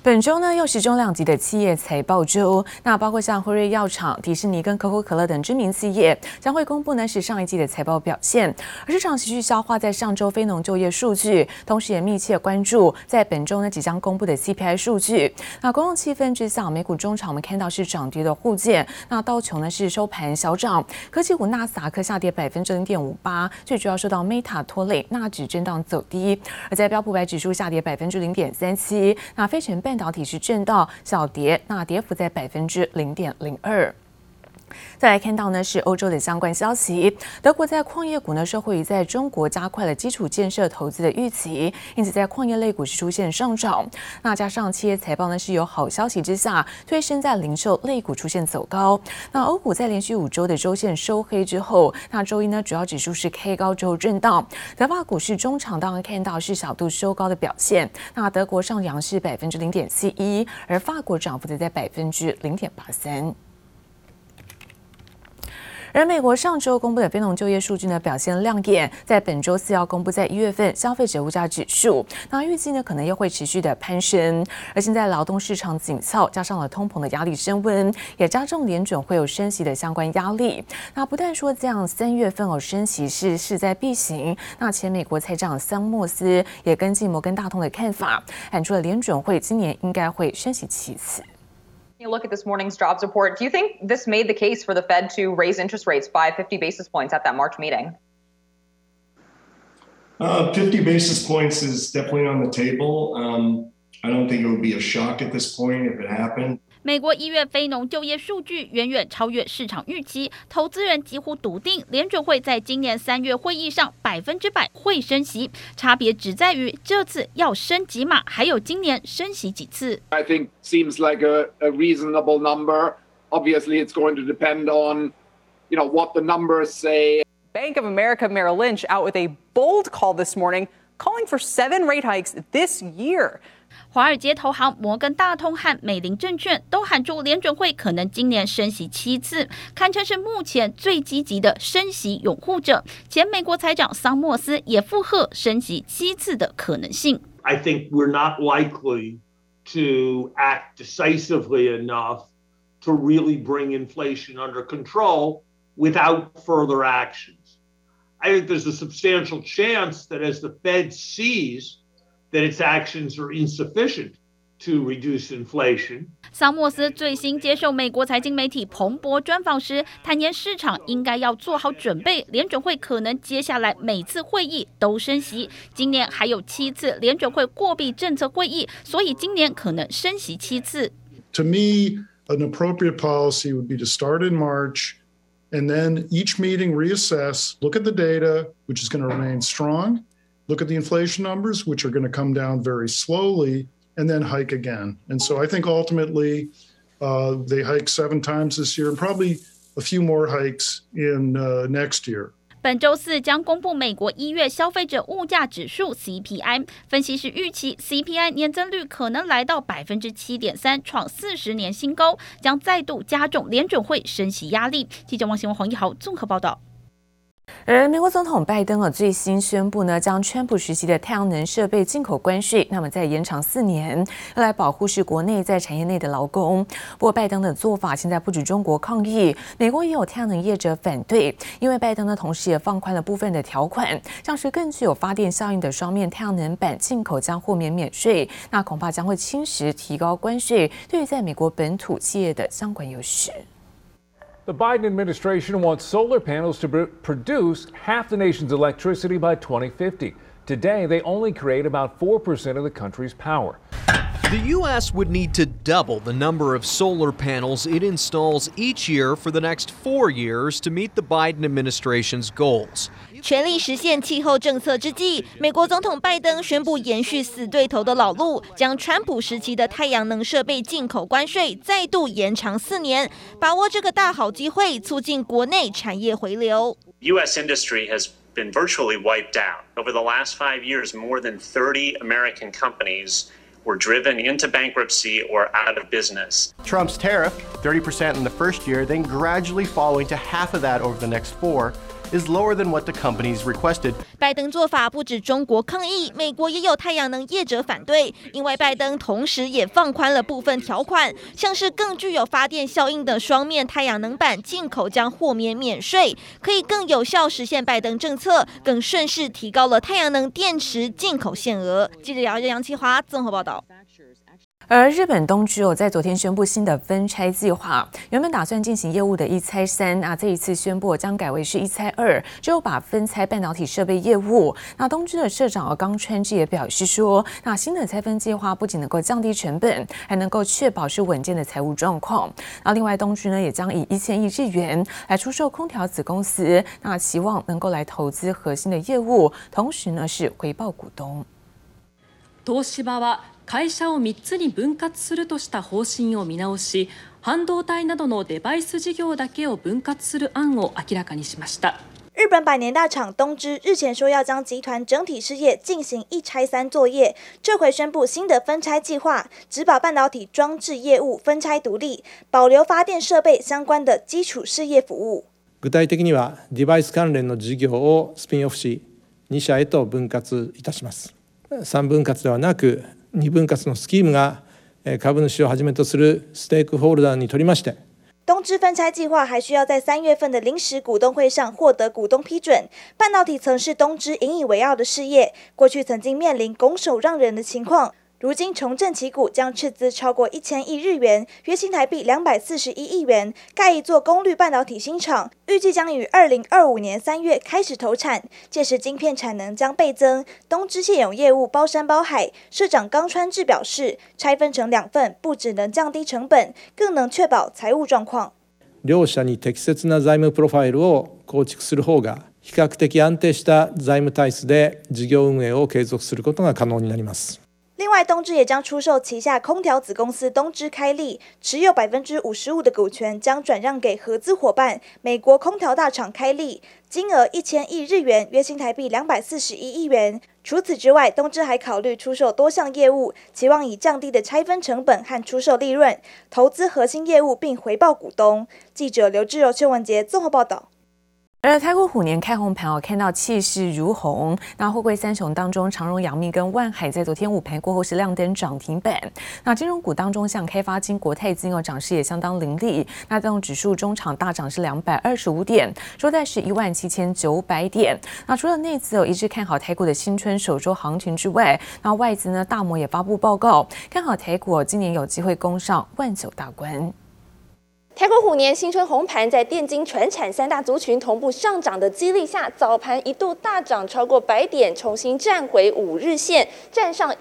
本周呢又是重量級的企業財報周，那包括像輝瑞藥廠、迪士尼跟可口可樂等知名企業將會公布呢是上一季的財報表現，而市場持續消化在上周非農就業數據，同時也密切關注在本周呢即將公布的 CPI 數據。那公共氣氛之下，美股中場我們看到是漲跌的互見，那道瓊呢是收盤小漲，科技股納斯達克下跌0.58%，最主要受到 Meta 拖累，納指震盪走低，而在標普500指數下跌0.37%，那費城半導體是震盪小跌，那跌幅在0.02%。再來看到呢是歐洲的相關消息，德國在礦業股呢受惠於在中國加快了基礎建設投資的預期，因此在礦業類股是出現上漲。那加上企業財報呢是有好消息之下，推升在零售類股出現走高。那歐股在連續5周的周線收黑之後，那周一呢主要指數是 K 高之後震盪。德法股市中場當然看到是小度收高的表現，那德國上揚是0.41%，而法國漲幅則在0.83%。而美國上周公布的非農就業數據呢表現亮眼，在本周4要公布在1月份消費者物價指數，那預計呢可能又會持續的攀升。而現在勞動市場緊俏，加上了通膨的壓力升溫，也加重聯準會有升息的相關壓力。那不但說這樣3月份升息是勢在必行，那前美國財長桑莫斯也跟進摩根大通的看法，喊出了聯準會今年應該會升息7次。 You look at this morning's jobs report. Do you think this made the case for the Fed to raise interest rates by 50 basis points at that March meeting? 50 basis points is definitely on the table. I don't think it would be a shock at this point if it happened. 美國1月非農就業數據遠遠超越市場預期，投資人幾乎篤定聯準會在今年3月會議上100%會升息，差別只在於這次要升幾碼，還有今年升息幾次。 I think seems like a reasonable number. Obviously, it's going to depend on, what the numbers say. Bank of America Merrill Lynch out with a bold call this morning, calling for 7 rate hikes this year. 華爾街投行摩根大通和美林證券都喊出聯準會可能今年升息7次，堪稱是目前最積極的升息擁護者。前美國財長桑莫斯也附和升息7次的可能性。 I think we're not likely to act decisively enough to really bring inflation under control without further actions. I think there's a substantial chance that as the Fed sees that its actions are insufficient to reduce inflation. 桑莫斯最新接受美國財經媒體彭博專訪時，坦言市場應該要做好準備，聯準會可能接下來每次會議都升息，今年還有7次聯準會貨幣政策會議，所以今年可能升息7次。 To me, an appropriate policy would be to start in March, and then each meeting reassess, look at the data, which is going to remain strong. Look at the inflation numbers, which are going to come down very slowly, and then hike again. And so I think ultimately they hike 7 times this year and probably a few more hikes in next year. 本周4將公布美國1月消費者物價指數 CPI， 分析師預期 CPI 年增率可能來到 7.3%， 創40年新高，將再度加重聯準會升息壓力。記者王新文、黃一豪綜合報道。 而美國總統拜登最新宣布呢，將川普時期的太陽能設備進口關稅，那麼再延長4年，要來保護是國內在產業內的勞工。不過拜登的做法現在不止中國抗議，美國也有太陽能業者反對，因為拜登呢同時也放寬了部分的條款，像是更具有發電效應的雙面太陽能板進口將豁免免稅，那恐怕將會侵蝕提高關稅對於在美國本土企業的相關優勢。 The Biden administration wants solar panels to produce half the nation's electricity by 2050. Today, they only create about 4% of the country's power. The U.S. would need to double the number of solar panels it installs each year for the next 4 years to meet the Biden administration's goals. 全力實現氣候政策之際，美國總統拜登宣布延續死對頭的老路，將川普時期的太陽能設備進口關稅再度延長4年，把握這個大好機會，促進國內產業回流。 U.S. industry has been virtually wiped out. Over the last 5 years, more than 30 American companies were driven into bankruptcy or out of business. Trump's tariff, 30% in the first year, then gradually falling to half of that over the next 4. is lower than what the companies requested. 拜登做法不止中国抗議，美國也有太陽能業者反對，因為拜登同時也放寬了部分條款，像是更具有發電效應的雙面太陽能板進口將豁免免稅，可以更有效實現拜登政策，更順勢提高了太陽能電池進口限額。記者楊啟華綜合報道。 而日本東芝在昨天宣布新的分拆計劃，原本打算進行業務的一拆3，這一次宣布將改為是一拆2，只有把分拆半導體設備業務。那東芝的社長岡川之也表示說，那新的拆分計劃不僅能夠降低成本，還能夠確保是穩健的財務狀況。那另外東芝呢也將以1000億日元來出售空調子公司，那期望能夠來投資核心的業務，同時呢是回報股東。 東芝は会社を3つに分割するとした方針を見直し、半導体などのデバイス事業だけを分割する案を明らかにしました。 日本百年大廠東芝日前說要將集團整體事業進行一拆3作業，這回宣布新的分拆計劃，只把半導體裝置業務分拆獨立，保留發電設備相關的基礎事業服務。 具體的にはデバイス関連の事業をスピンオフし、2社へと分割いたします。3分割ではなく2分割のスキームが株主をはじめとするステークホルダーにとりまして、 東芝分拆計劃還需要在3月份的臨時股東會上獲得股東批准。半導體曾是東芝引以為傲的事業，過去曾經面臨拱手讓人的情況。如今重振旗鼓，將斥資超過1000億日元，約新台幣241億元，蓋一座功率半導體新廠，預計將於2025年3月開始投產，屆時晶片產能將倍增。東芝現有業務包山包海，社長岡川智表示，拆分成2份，不只能降低成本，更能確保財務狀況。 両社に適切な財務プロファイルを構築する方が、比較的安定した財務體質で事業運営を継続することが可能になります。 另外，東芝也將出售旗下空調子公司東芝開利，持有55%的股權將轉讓給合資夥伴美國空調大廠開利，金額1000億日元，約新台幣241億元。除此之外，東芝還考慮出售多項業務，期望以降低的拆分成本和出售利潤，投資核心業務並回報股東。記者劉志柔、邱文傑綜合報道。 而台股虎年開紅盤看到氣勢如虹。那貨櫃三雄當中，長榮、陽明跟萬海在昨天午盤過後是亮燈漲停板。那金融股當中，像開發金、國泰金漲勢也相當凌厲。那帶動指數中場大漲是225點，收在是17900點。那除了內資一致看好台股的新春首周行情之外，那外資呢大摩也發布報告，看好台股今年有機會攻上19000大關。 台股虎年新春紅盤，在電金傳產3大族群同步上漲的激勵下，早盤一度大漲超過100點，重新站回5日線，站上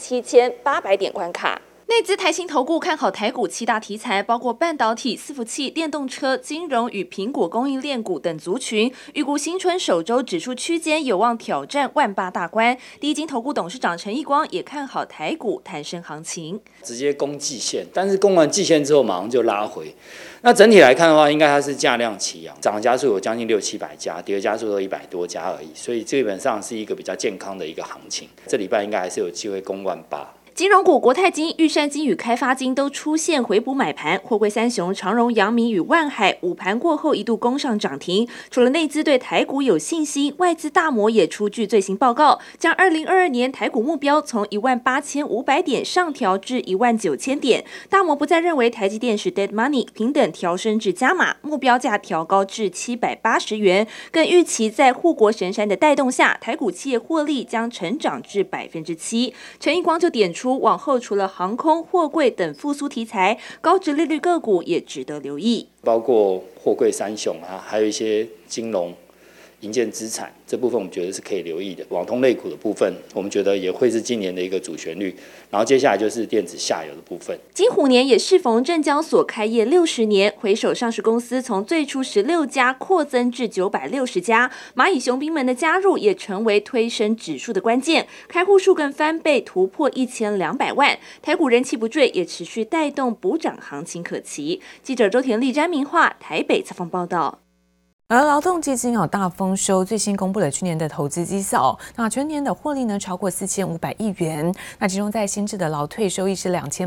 17800點關卡。內資台新投顧看好台股7大題材，包括半導體、伺服器、電動車、金融與蘋果供應鏈股等族群，預估新春首周指數區間有望挑戰18000大關。第一金投顧董事長陳義光也看好台股彈升行情， 直接攻季線，但是攻完季線之後馬上就拉回。那整體來看的話，應該它是價量齊揚，漲的家數有將近600-700家，跌的家數都100多家而已，所以基本上是一個比較健康的一個行情。這禮拜應該還是有機會攻18000。 金融股國泰金、玉山金與開發金都出現回補買盤，貨櫃三雄長榮、陽明與萬海午盤過後一度攻上漲停。除了內資對台股有信心，外資大摩也出具最新報告，將2022年台股目標從18500點上調至19000點。大摩不再認為台積電是 dead money， 平等調升至加碼，目標價調高至780元，更預期在護國神山的帶動下，台股企業獲利將成長至7%。陳義光就點出，往後除了航空、貨櫃等復甦題材，高殖利率個股也值得留意， 包括貨櫃三雄啊，還有一些金融、營建資產這部分，我們覺得是可以留意的。網通類股的部分，我們覺得也會是今年的一個主旋律。然後接下來就是電子下游的部分。 金虎年也適逢證交所開業60年，回首上市公司從最初16家擴增至960家，螞蟻雄兵們的加入也成為推升指數的關鍵，開戶數更翻倍，突破1200萬。台股人氣不墜，也持續帶動補漲行情可期。記者周田麗、詹明化台北採訪報道。 而勞動基金有大豐收，最新公布了去年的投資績效，那全年的獲利呢超過4500億元，那其中在新制的勞退收益是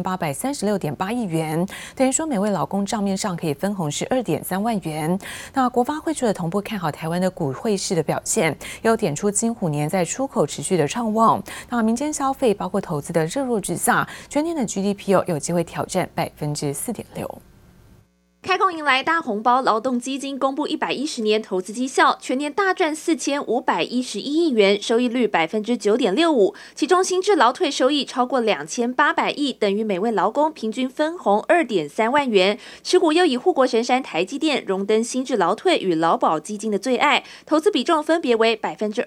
2836.8億元，等於說每位勞工賬面上可以分紅是2.3萬元。那國發會除了同步看好台灣的股匯市的表現，也有點出金虎年在出口持續的暢旺，那民間消費包括投資的熱絡之下，全年的 GDP 有機會挑戰4.6%。 開工迎來大紅包，勞動基金公布110年投資績效，全年大賺4511億元，收益率9.65%，其中新制勞退收益超過2800億，等於每位勞工平均分紅2.3萬元。持股又以護國神山台積電榮登新制勞退與勞保基金的最愛，投資比重分別為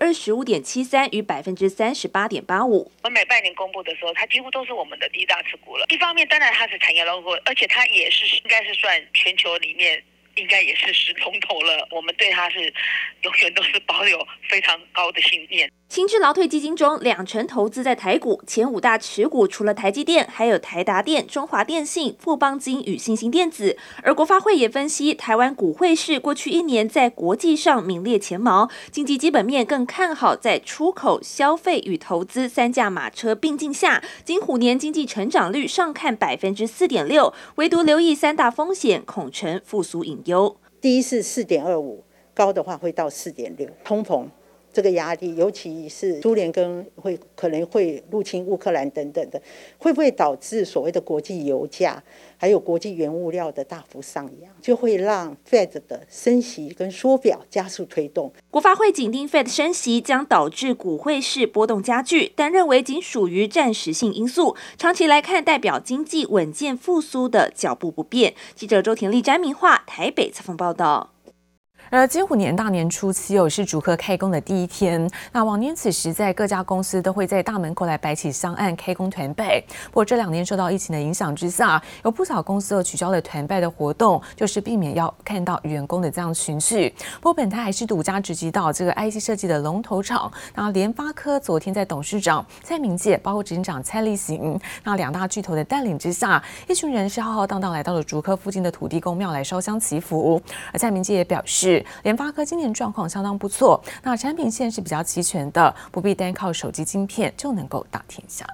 25.73%與38.85%。 我每半年公布的時候，它幾乎都是我們的第一大持股了。一方面，當然它是產業龍頭，而且它也是應該是算全球裡面應該也是龍頭了，我們對它是永遠都是保有非常高的信念。 新制勞退基金中，20%投資在台股，前5大持股除了台積電，還有台達電、中華電信、富邦金與新興電子。而國發會也分析，台灣股匯市過去1年在國際上名列前茅，經濟基本面更看好，在出口、消費與投資3駕馬車並進下，金虎年經濟成長率上看4.6%，唯獨留意3大風險，恐成復甦隱憂。 第一是4.25，高的話會到4.6，通膨。這個壓力，尤其是蘇聯可能會入侵烏克蘭等等的，會不會導致所謂的國際油價還有國際原物料的大幅上揚，就會讓 Fed 的升息跟縮表加速推動。 國發會緊盯 Fed 升息將導致股匯市波動加劇，但認為僅屬於暫時性因素，長期來看代表經濟穩健復甦的腳步不變。記者周田麗、詹明化台北採訪報道。 而金虎年大年初7是竹科開工的第一天。那往年此時，在各家公司都會在大門口來擺起香案開工團拜。不過這2年受到疫情的影響之下，有不少公司都取消了團拜的活動，就是避免要看到員工的這樣群聚。不過本台還是獨家直擊到這個 IC 設計的龍頭廠，那聯發科昨天在董事長蔡明介，包括執行長蔡力行，那2大巨頭的帶領之下，一群人是浩浩蕩蕩來到了竹科附近的土地公廟來燒香祈福。而蔡明介也表示，聯發科今年狀況相當不錯，那產品線是比較齊全的，不必單靠手機晶片就能夠打天下。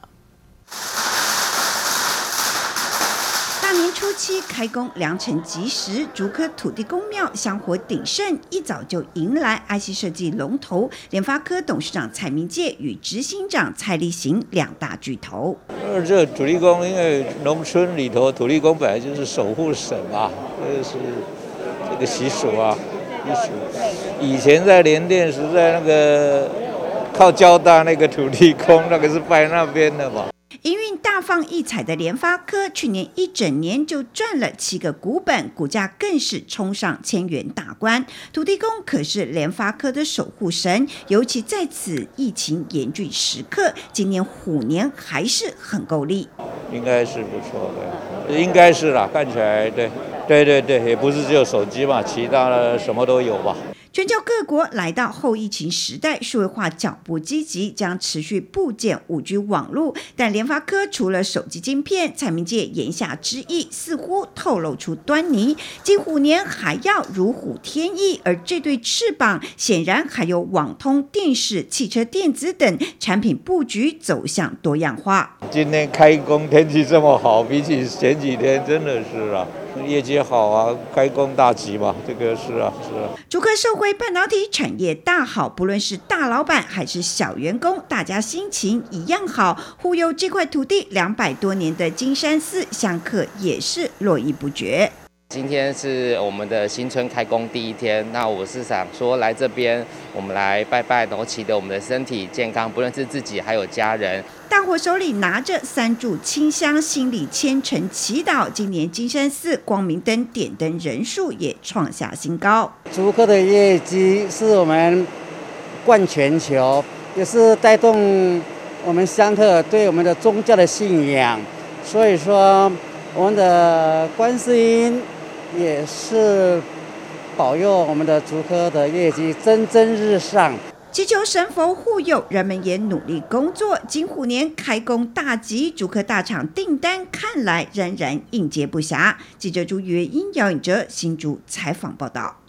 大年初7開工，良辰吉時，竹科土地公廟香火鼎盛，一早就迎來 IC 設計龍頭聯發科董事長蔡明介與執行長蔡力行2大巨頭。 這土地公，因為農村裡頭土地公本來就是守護神嘛，這是這個習俗啊。以前在聯電是在那個靠交大那個土地公，那個是拜那邊的嘛。 營運大放異彩的聯發科，去年一整年就賺了7個股本，股價更是衝上1000元大關。土地公可是聯發科的守護神，尤其在此疫情嚴峻時刻，今年虎年還是很夠力。 應該是不錯的，應該是啦，看起來對，也不是只有手機嘛，其他的什麼都有吧。 全球各國來到後疫情時代，數位化腳步積極，將持續布建 5G 網絡。但聯發科除了手機晶片，蔡明介言下之意似乎透露出端倪，金虎年還要如虎添翼，而這對翅膀顯然還有網通、電視、汽車電子等產品布局走向多樣化。 今天開工天氣這麼好，比起前幾天真的是啊。業績好啊，開工大吉嘛，這個是啊。 竹科受惠半導體產業大好，不論是大老闆還是小員工，大家心情一樣好。護佑這塊土地200多年的金山寺香客也是絡繹不絕。 今天是我們的新春開工第一天，那我是想說來這邊，我們來拜拜，然後祈禱我們的身體健康，不論是自己還有家人。 大夥手裡拿着3炷清香，心裡虔誠祈禱。今年金山寺光明燈點燈人數也創下新高。 竹科的業績是我們冠全球，也是帶動我們香客對我們的宗教的信仰。所以說，我們的觀世音也是保佑我們的竹科的業績蒸蒸日上。 祈求神佛護佑，人們也努力工作。金虎年開工大吉，竹科大廠訂單看來仍然應接不暇。記者朱月英、姚穎哲新竹採訪報道。